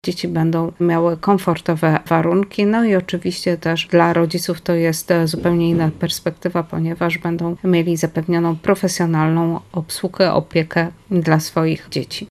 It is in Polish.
dzieci będą miały komfortowe warunki. No i oczywiście też dla rodziców to jest zupełnie inna perspektywa, ponieważ będą mieli zapewnioną profesjonalną obsługę, opiekę dla swoich dzieci.